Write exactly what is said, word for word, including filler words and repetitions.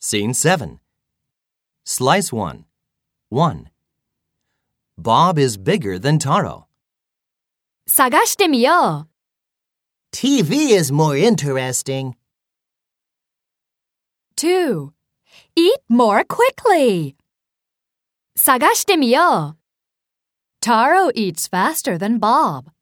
Scene seven. Slice one. one. Bob is bigger than Taro. 探してみよう。 T V is more interesting. two. Eat more quickly. 探してみよう。Taro eats faster than Bob.